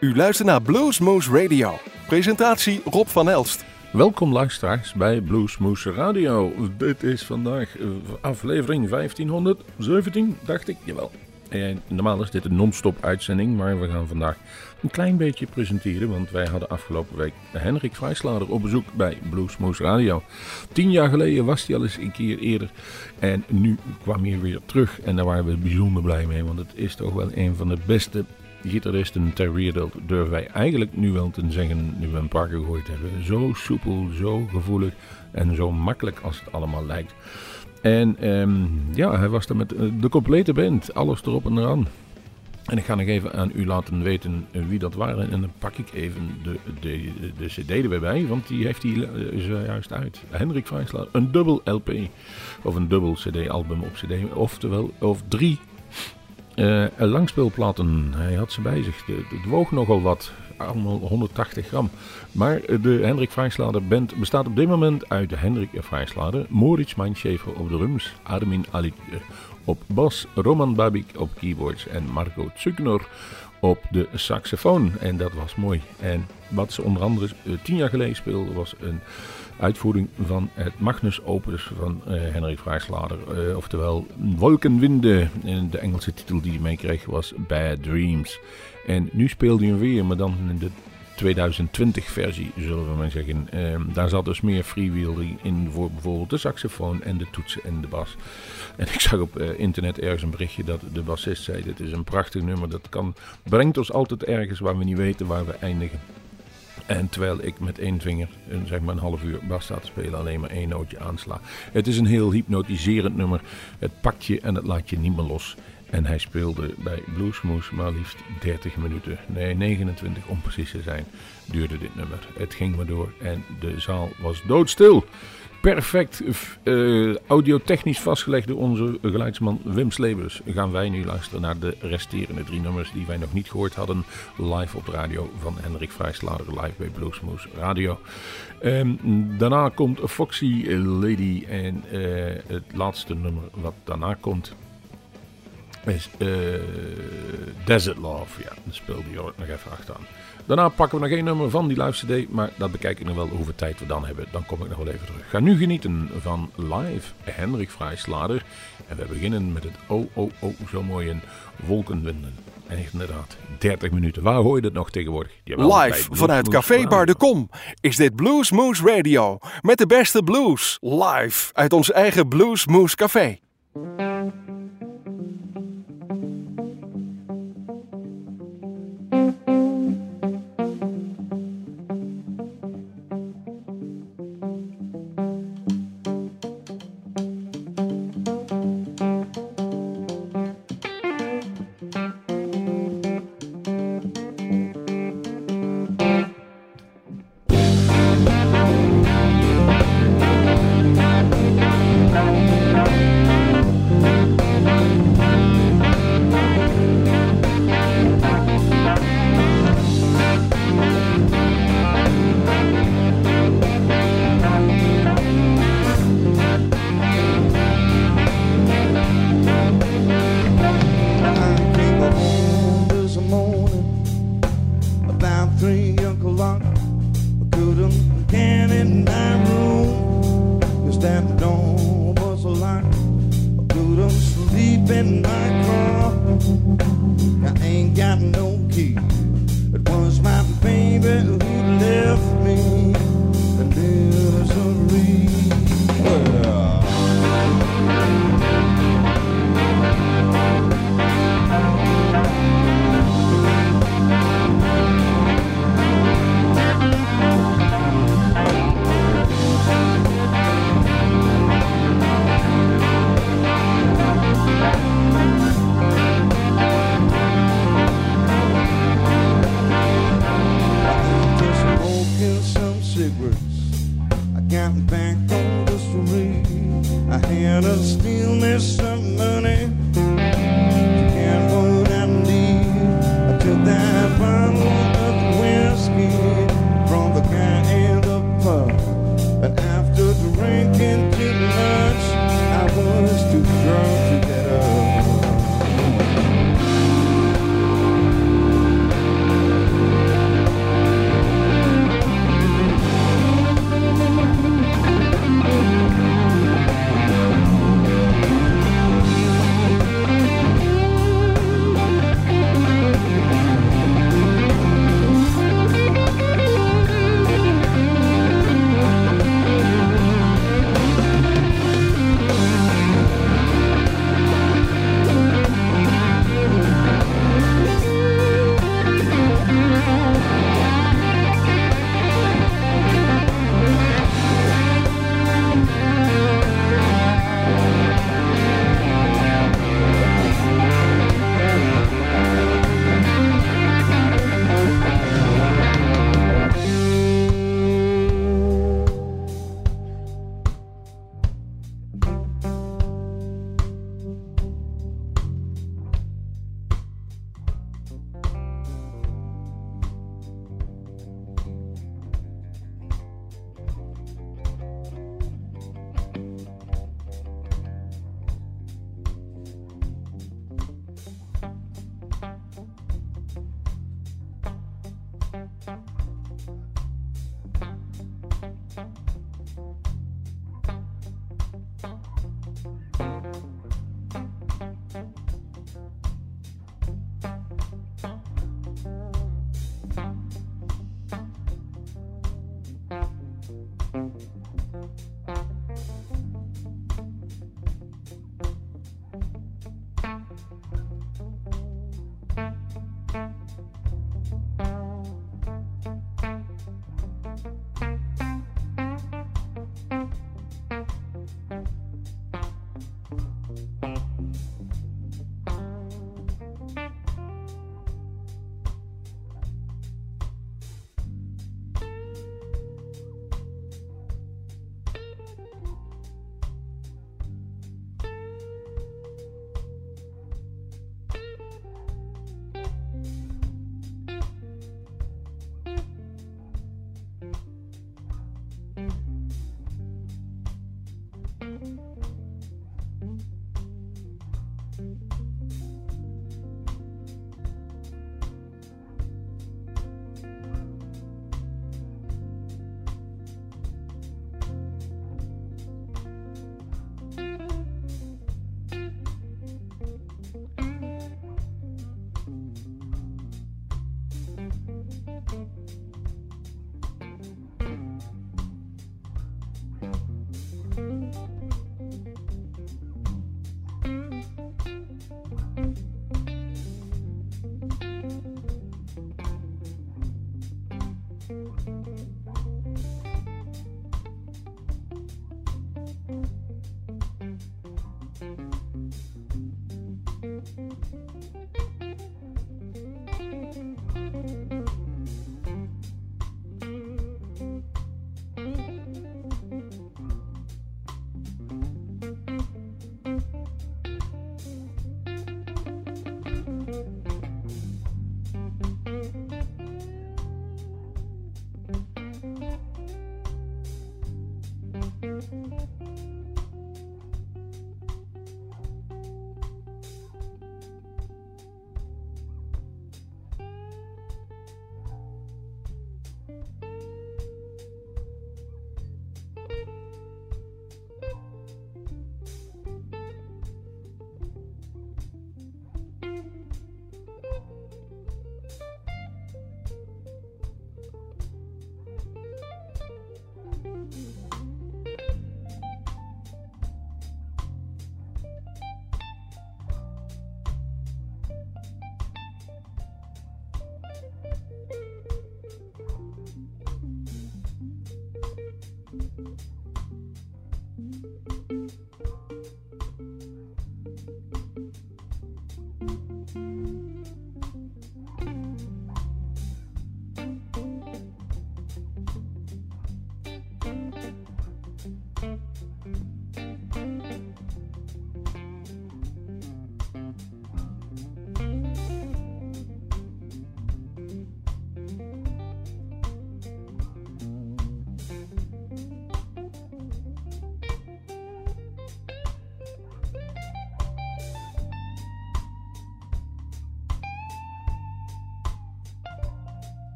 U luistert naar Bluesmoose Radio. Presentatie Rob van Elst. Welkom luisteraars bij Bluesmoose Radio. Dit is vandaag aflevering 1517, dacht ik. Jawel. En normaal is dit een non-stop uitzending, maar we gaan vandaag een klein beetje presenteren. Want wij hadden afgelopen week Hendrik Vrijslader op bezoek bij Bluesmoose Radio. 10 jaar geleden was hij al eens een keer eerder. En nu kwam hij weer terug. En daar waren we bijzonder blij mee. Want het is toch wel een van de beste gitaristen ter wereld, durven wij eigenlijk nu wel te zeggen, nu we een paar gegooid hebben. Zo soepel, zo gevoelig en zo makkelijk als het allemaal lijkt. En hij was er met de complete band, alles erop en eraan. En ik ga nog even aan u laten weten wie dat waren. En dan pak ik even de cd er weer bij, want die heeft hij zojuist uit. Hendrik Vrijslader, een dubbel LP, of een dubbel cd-album op cd, of 3 langspeelplaten. Hij had ze bij zich. Het woog nogal wat. Allemaal 180 gram. Maar de Hendrik Vrijslader band bestaat op dit moment uit Hendrik Vrijslader, Moritz Meinschäfer op drums, Armin Ali op bas, Roman Babik op keyboards en Marco Zuckner op de saxofoon. En dat was mooi. En wat ze onder andere 10 jaar geleden speelden was een uitvoering van het Magnus Opus van Hendrik Vrijslader. Oftewel Wolkenwinde. En de Engelse titel die hij meekreeg was Bad Dreams. En nu speelde hij hem weer, maar dan in de 2020 versie, zullen we maar zeggen. Daar zat dus meer freewheeling in voor bijvoorbeeld de saxofoon en de toetsen en de bas. En ik zag op internet ergens een berichtje dat de bassist zei: dit is een prachtig nummer, brengt ons altijd ergens waar we niet weten waar we eindigen. En terwijl ik met één vinger, zeg maar een half uur bas sta te spelen, alleen maar één nootje aansla. Het is een heel hypnotiserend nummer. Het pakt je en het laat je niet meer los. En hij speelde bij Bluesmoose maar liefst 30 minuten. Nee, 29 om precies te zijn, duurde dit nummer. Het ging maar door en de zaal was doodstil. Perfect audiotechnisch vastgelegd door onze geluidsman Wim Slebers. Gaan wij nu luisteren naar de resterende 3 nummers die wij nog niet gehoord hadden. Live op de radio van Hendrik Vrijslader, live bij Bluesmoose Radio. Daarna komt Foxy Lady en het laatste nummer wat daarna komt is Desert Love. Ja, dat speelde je ook nog even achteraan. Daarna pakken we nog één nummer van die live cd, maar dat bekijk ik nog wel hoeveel tijd we dan hebben. Dan kom ik nog wel even terug. Ga nu genieten van live Hendrik Vrijslader. En we beginnen met het zo mooie Wolkenwinden. En inderdaad, 30 minuten. Waar hoor je dat nog tegenwoordig? Live vanuit Café Bar de Kom is dit Bluesmoose Radio. Met de beste blues. Live uit ons eigen Bluesmoose Café.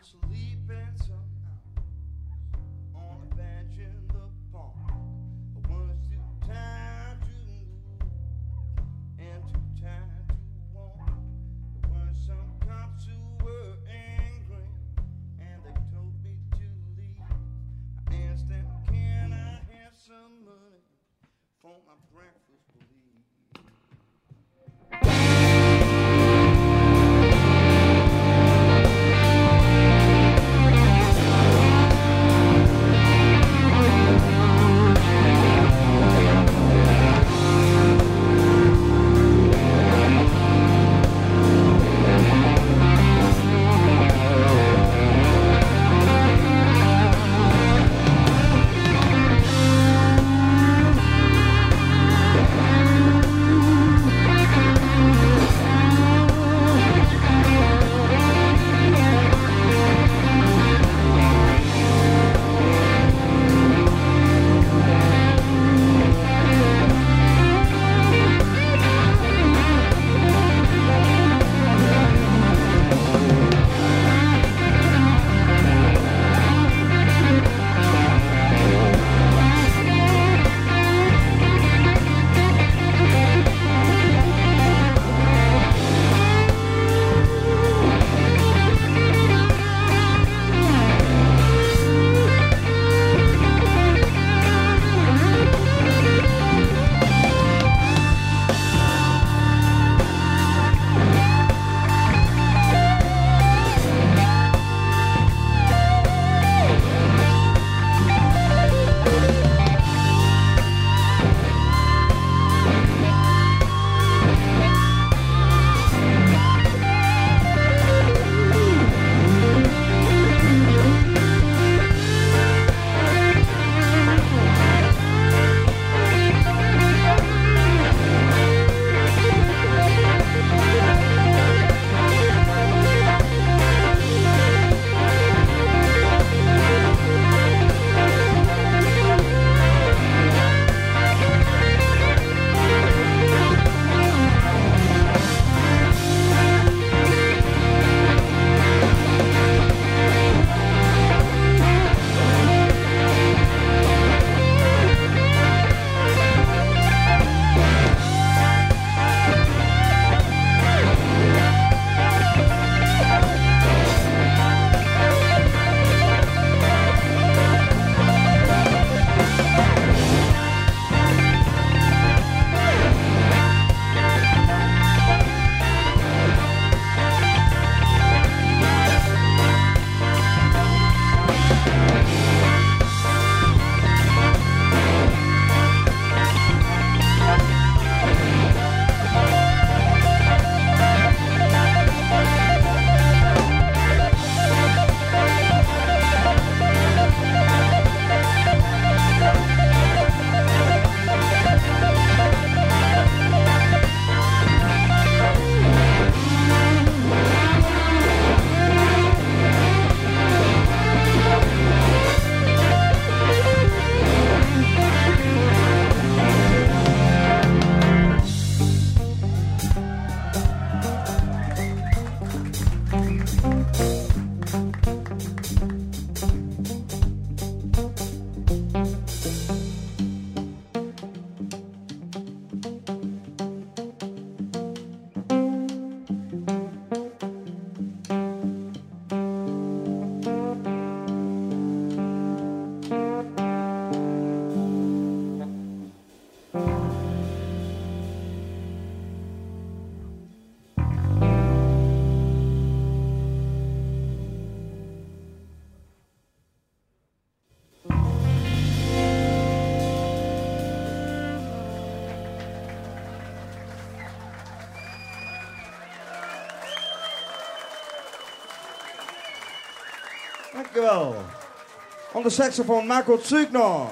Dankjewel. On de saxofoon Marco Zugno.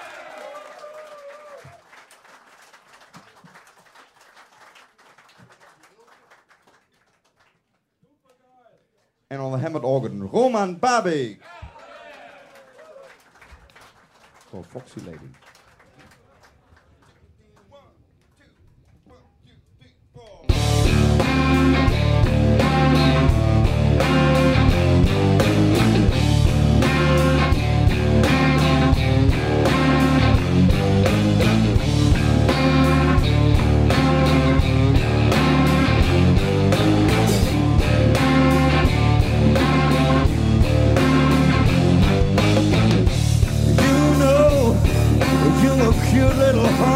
En on the hammered organ Roman Babik. For Foxy Lady.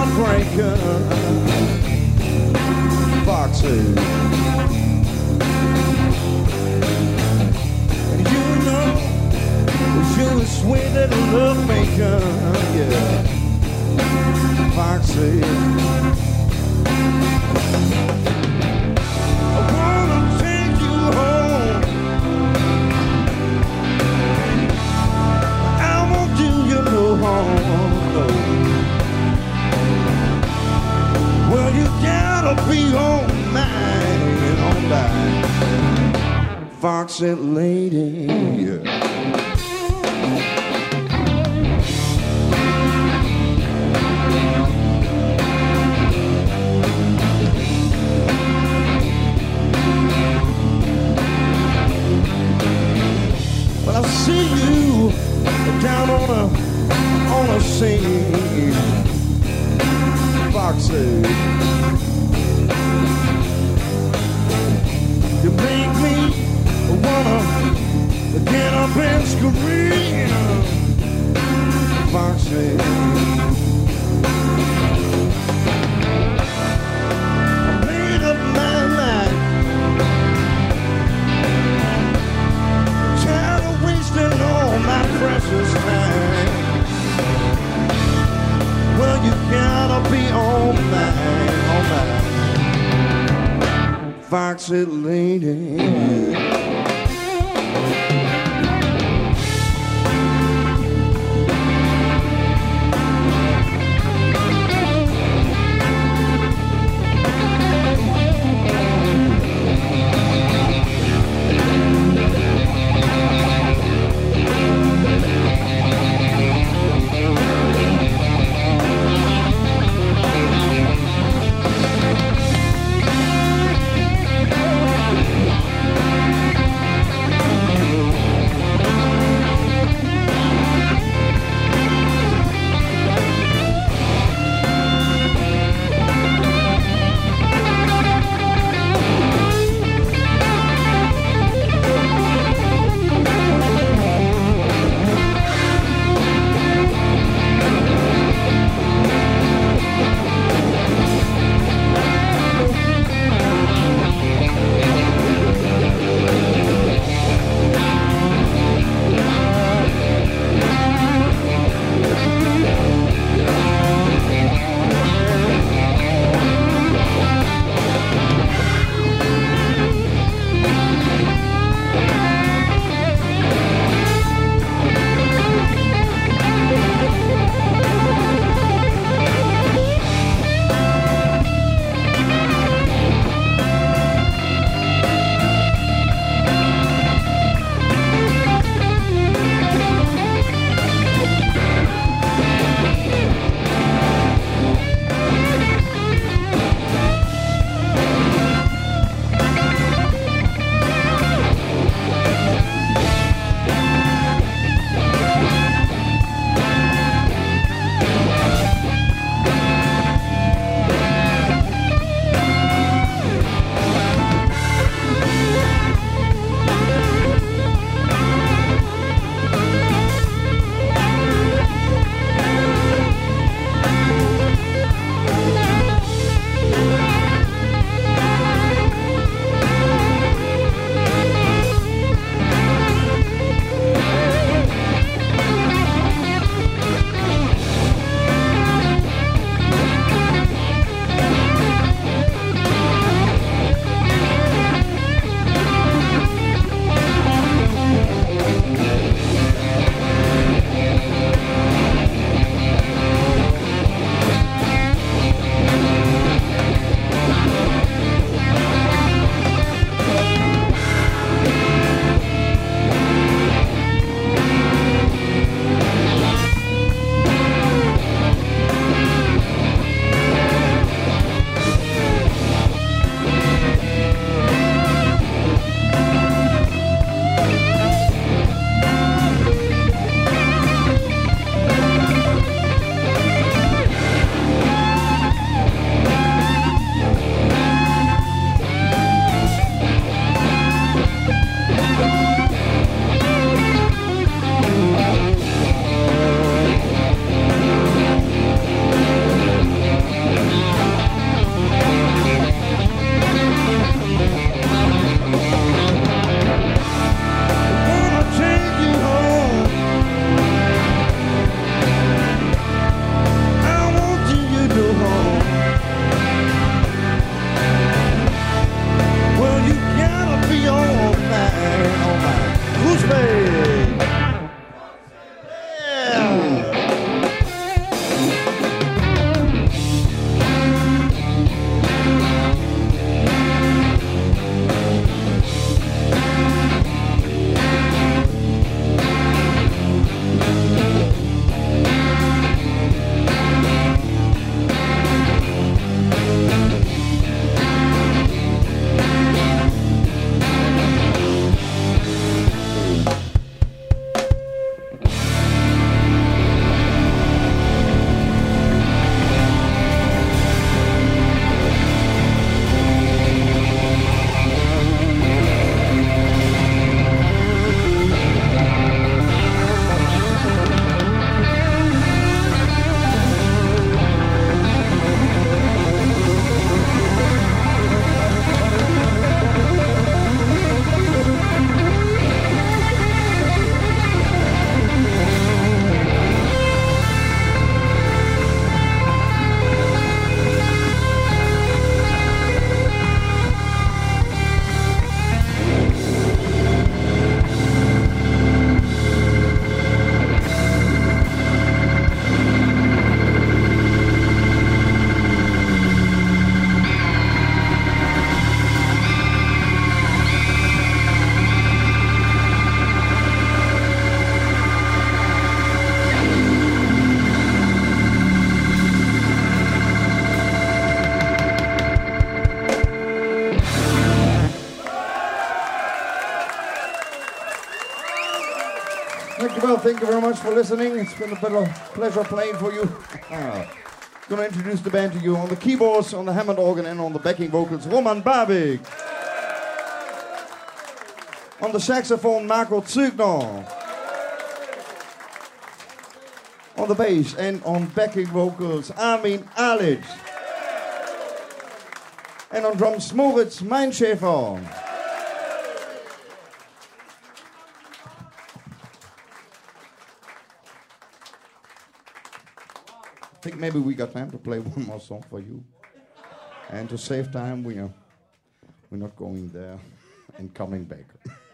heartbreaker, Foxy. You know, you're a sweet little love maker, yeah, Foxy. I wanna take you home. I won't do you no harm, no. Well, you gotta be on my Foxy lady, yeah. Well, I see you down on a scene, Foxy. You make me wanna get up and scream, Foxy. I made up my mind, tired of wasting all my precious time. Well, you gotta be on mine, Foxy lady. thank you very much for listening. It's been a pleasure playing for you. Gonna introduce the band to you. On the keyboards, on the Hammond organ, and on the backing vocals, Roman Babik. On the saxophone, Marco Zügner. On the bass and on backing vocals, Armin Alic. And on drums, Moritz Meinschäfer. I think maybe we got time to play one more song for you. And to save time, we're not going there and coming back.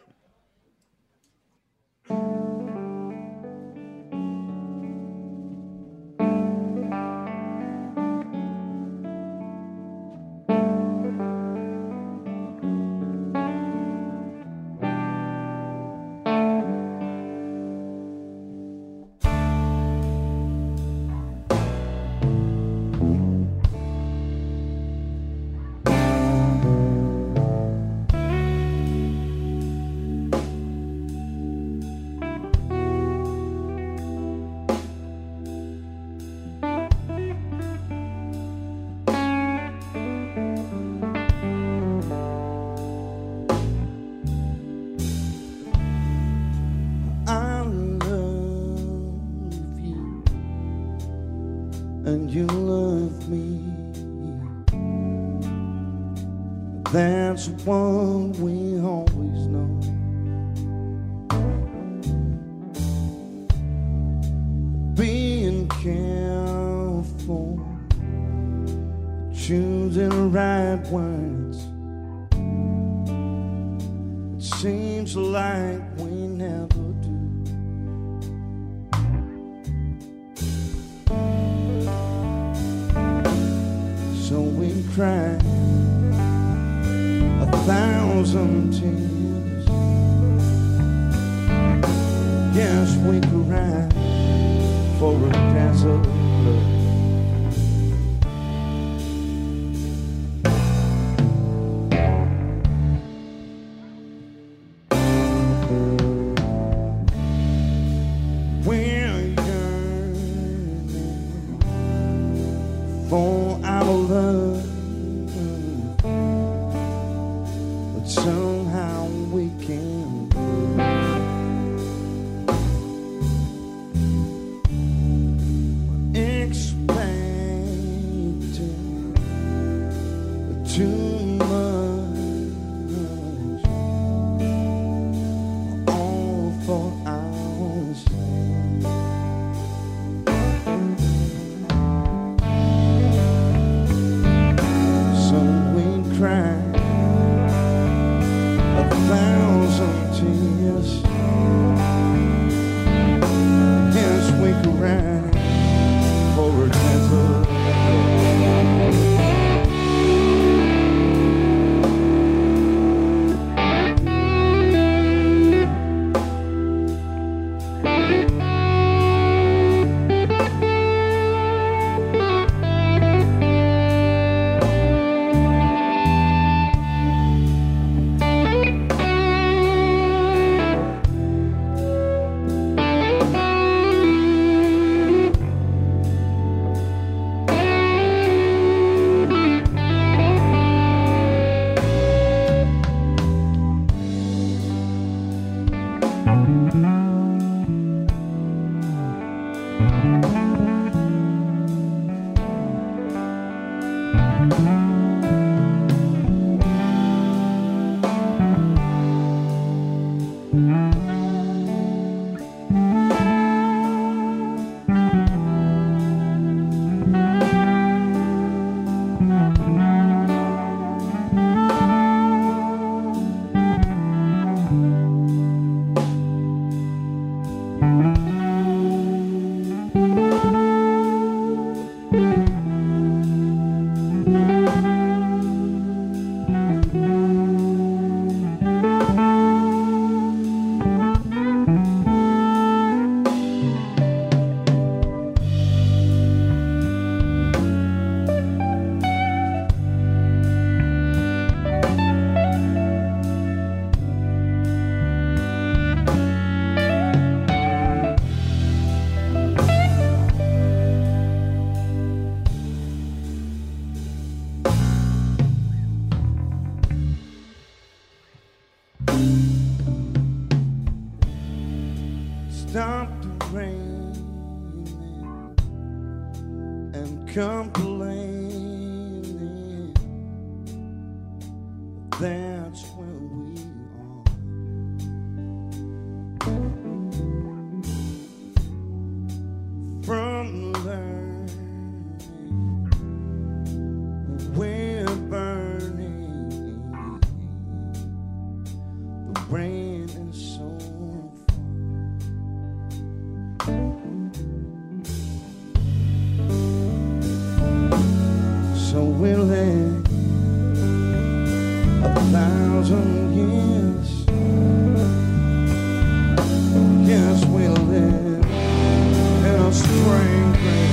And you love me. That's what we always know. Being careful, choosing the right words. It seems like we never do. So we cried 1,000 tears. Yes, we cried for a glass of blood. We're yearning for our love, but somehow we can't expecting too much, all for ourselves. So we cried 1,000 tears. Yes, we cried for a chance of complaining. That's where we are. From learning, we're burning. The rain is so so we'll live 1,000 years. Yes, we'll live in a strange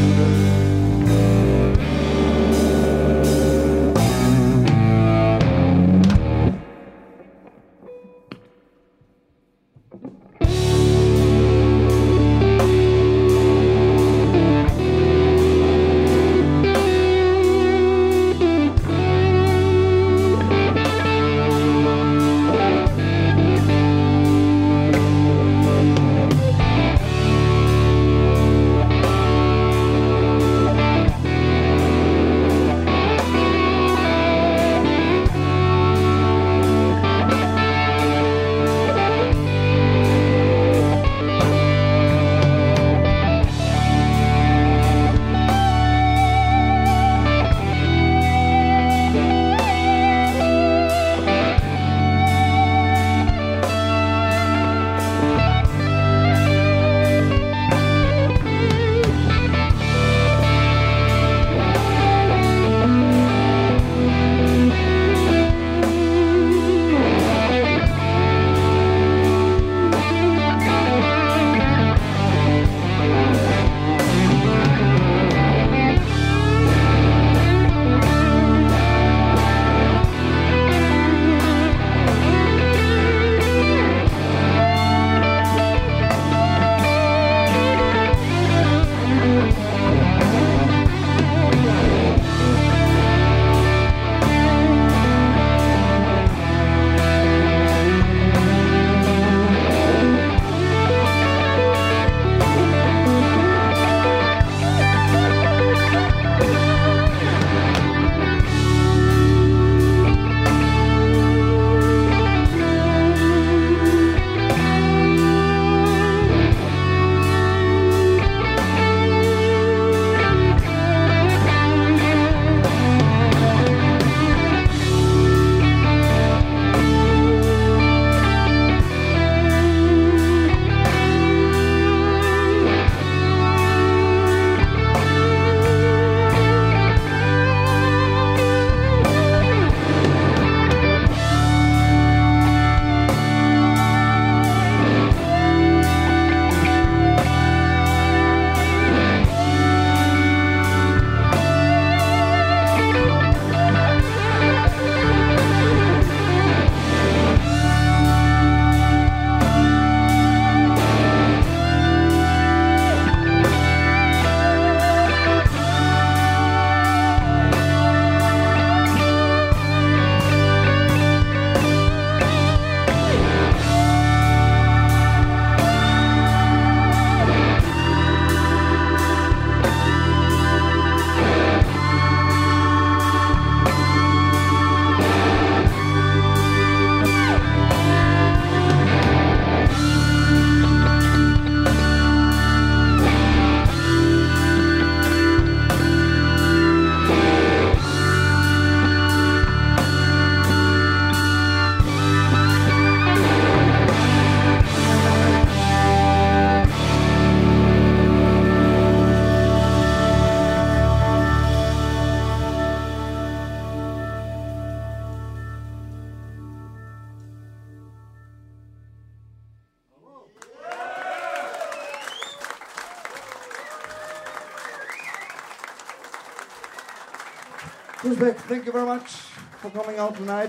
Beck, thank you very much for coming out tonight.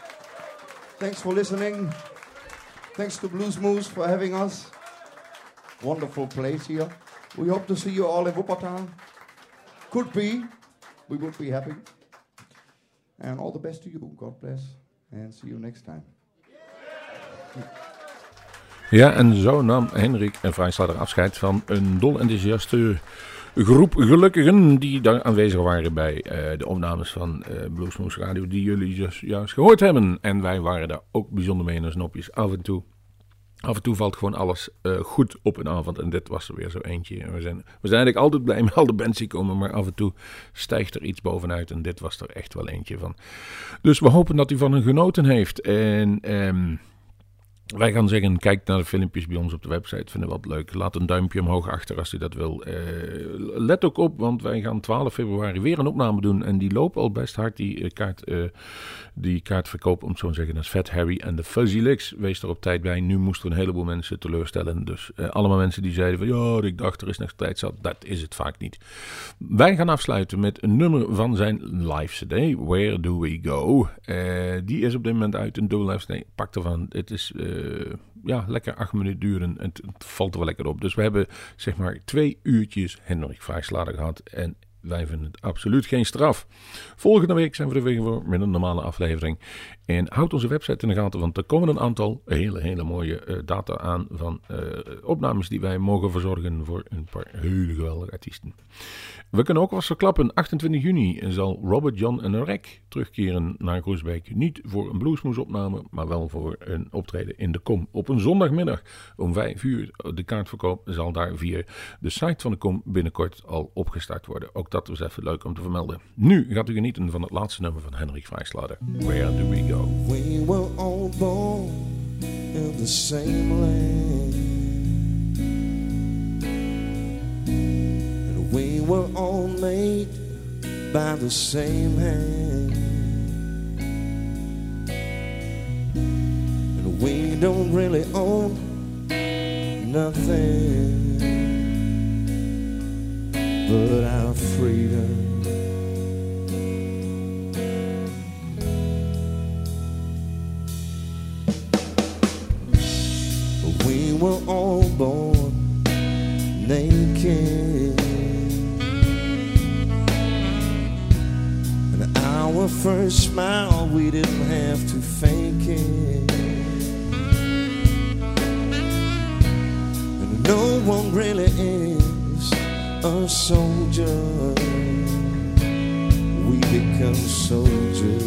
Thanks for listening. Thanks to Blues Moose for having us. Wonderful place here. We hope to see you all in Wuppertal. Could be. We would be happy. And all the best to you. God bless. And see you next time. Ja, en zo nam Hendrik en Vrijslader afscheid van een dol enthousiaste groep gelukkigen die daar aanwezig waren bij de opnames van Bluesmoose Radio die jullie dus juist gehoord hebben. En wij waren daar ook bijzonder mee in ons nopjes. Af en toe valt gewoon alles goed op een avond. En dit was er weer zo eentje. We zijn eigenlijk altijd blij met al de bands die komen. Maar af en toe stijgt er iets bovenuit. En dit was er echt wel eentje van. Dus we hopen dat u van hen genoten heeft. En wij gaan zeggen, kijk naar de filmpjes bij ons op de website. Vinden we wat leuk. Laat een duimpje omhoog achter als u dat wil. Let ook op, want wij gaan 12 februari weer een opname doen. En die lopen al best hard, die kaartverkoop, om het zo te zeggen. Dat is Fat Harry en de Fuzzy Licks. Wees er op tijd bij. Nu moesten we een heleboel mensen teleurstellen. Dus allemaal mensen die zeiden van, ja, ik dacht er is nog tijd zat. Dat is het vaak niet. Wij gaan afsluiten met een nummer van zijn live CD. Where Do We Go? Die is op dit moment uit. Een dubbel live CD. Pak ervan. Het is lekker 8 minuten duren. En het valt er wel lekker op. Dus we hebben zeg maar 2 uurtjes Hendrik Vrijslader gehad. En wij vinden het absoluut geen straf. Volgende week zijn we er weer voor met een normale aflevering. En houd onze website in de gaten, want er komen een aantal hele mooie data aan van opnames die wij mogen verzorgen voor een paar hele geweldige artiesten. We kunnen ook wel verklappen, 28 juni zal Robert John en Rek terugkeren naar Groesbeek. Niet voor een Bluesmoose opname, maar wel voor een optreden in de Kom. Op een zondagmiddag om 5 uur. De kaartverkoop zal daar via de site van de Kom binnenkort al opgestart worden. Ook dat was even leuk om te vermelden. Nu gaat u genieten van het laatste nummer van Hendrik Vrijslader. Where Do We Go? We were all born in the same land, and we were all made by the same hand, and we don't really own nothing but our freedom. We were all born naked, and our first smile we didn't have to fake it, and no one really is a soldier. We become soldiers.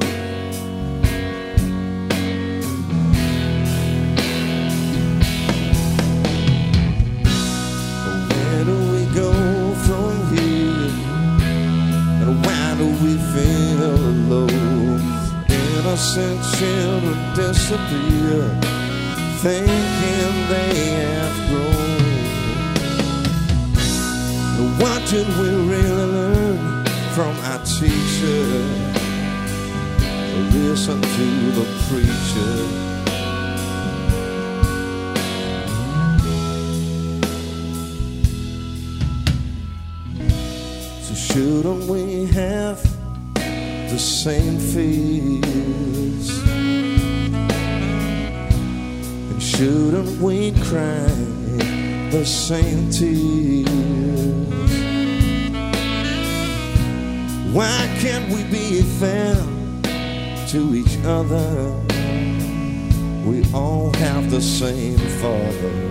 Innocent children disappear, thinking they have grown. What did we really learn from our teacher? Listen to the preacher. So shouldn't we have the same fears? And shouldn't we cry the same tears? Why can't we be fair to each other? We all have the same Father.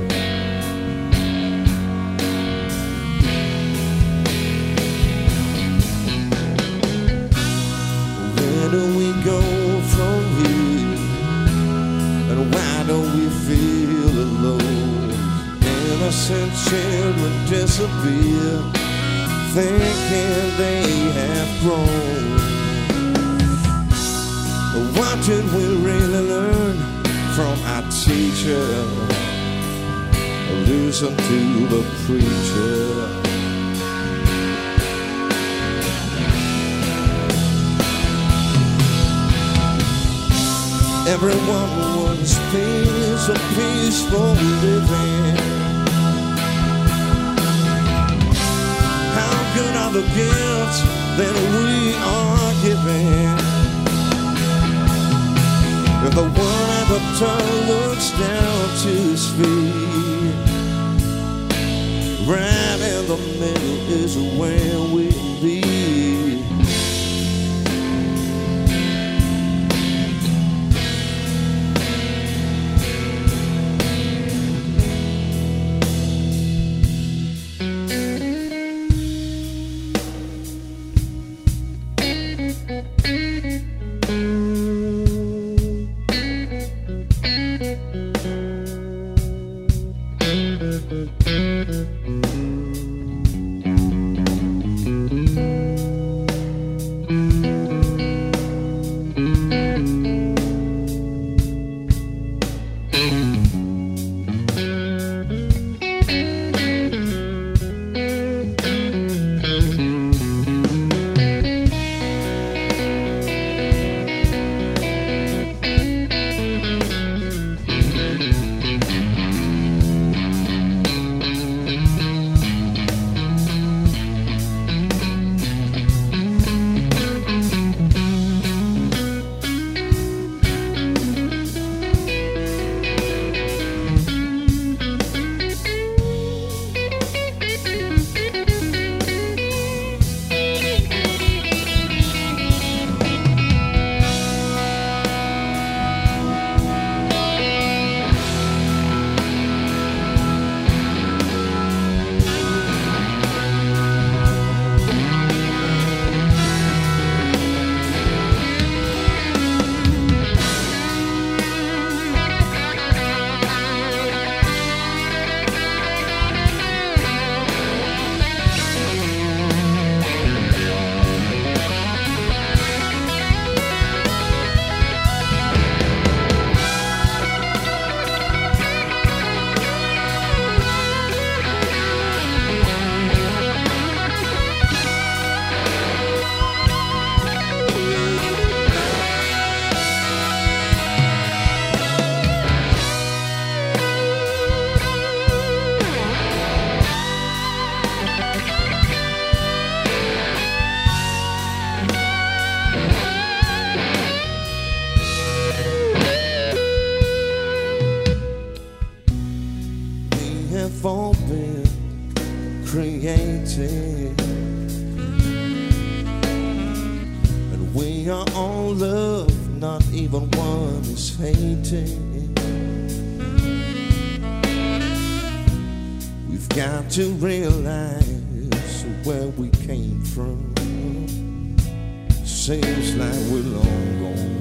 Where do we go from here? And why don't we feel alone? Innocent children disappear, thinking they have grown. What did we really learn from our teacher? Listen to the preacher. Everyone wants peace, a peaceful living. How good are the gifts that we are giving? If the one at the top looks down to his feet, right in the middle is where we be. And we are all loved, not even one is hating. We've got to realize where we came from. Seems like we're long gone.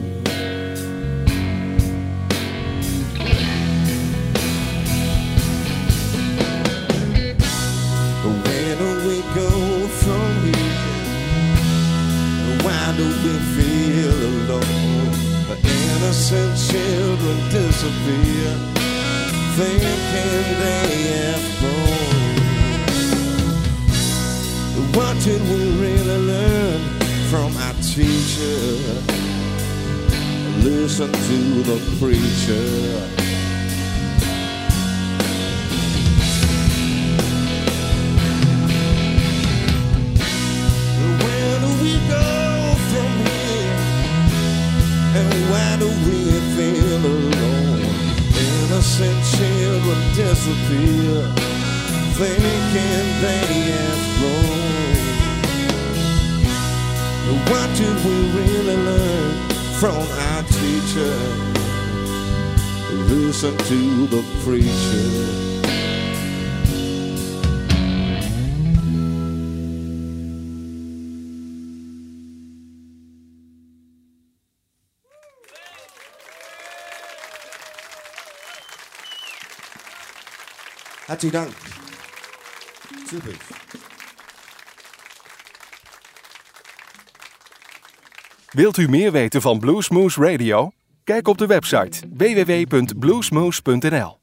Where do we go from here? Why do we feel alone? The innocent children disappear, thinking they have grown. What did we really learn from our teacher? Listen to the preacher. Where do we go from here? And why do we feel alone? Innocent children disappear, thinking they have grown. What did we really learn from our teacher? Listen to the preacher. Hartelijk dank. Super. Wilt u meer weten van Bluesmoose Radio? Kijk op de website www.bluesmoose.nl.